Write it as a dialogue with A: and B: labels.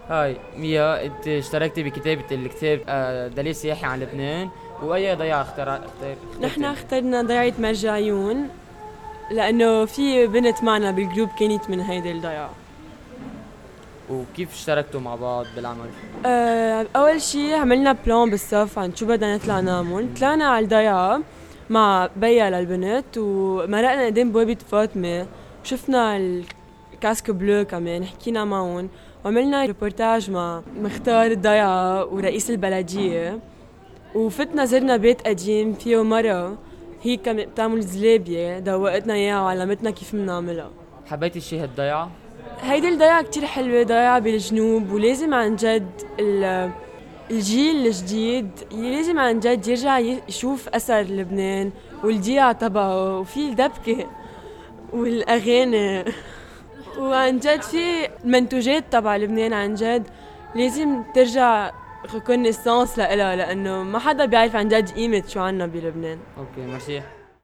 A: هاي ميا، انت اشتركتي بكتابة الكتاب دليل سياحي عن لبنان، واي ضيعة
B: نحن
A: اخترتي انت؟
B: اخترنا ضيعة مرجعيون لأنه في بنت معنا بالجروب كانت من هيدي الضيعة.
A: وكيف اشتركتوا مع بعض بالعمل؟
B: أول شي عملنا بلان بالصف عن شو بدنا نطلع نعمل. طلعنا على الضيعة مع بيا للبنت ومرقنا قدام بوابة فاطمة، شفنا الكاسك بلو كمان، حكينا معهم وعملنا ريبورتاج مع مختار الضيعة ورئيس البلدية. وفتنا زرنا بيت قديم فيه مرة هي كانت بتعمل زلابية، دوقتنا اياها وعلمتنا كيف بنعملها.
A: حبيتي شي هالضيعة؟
B: هيدي الضيعة كتير حلوة، ضيعة بالجنوب، ولازم عن جد الجيل الجديد لازم عن جد يرجع يشوف أثر لبنان والضيعة تبعه وفي الدبكة والأغاني وعن جد في المنتوجات تبع لبنان عن جد لازم ترجع ريكونيسانس لإلها، لأنه ما حدا بيعرف عن جد قيمة شو عنا بلبنان.
A: اوكي، ميرسي.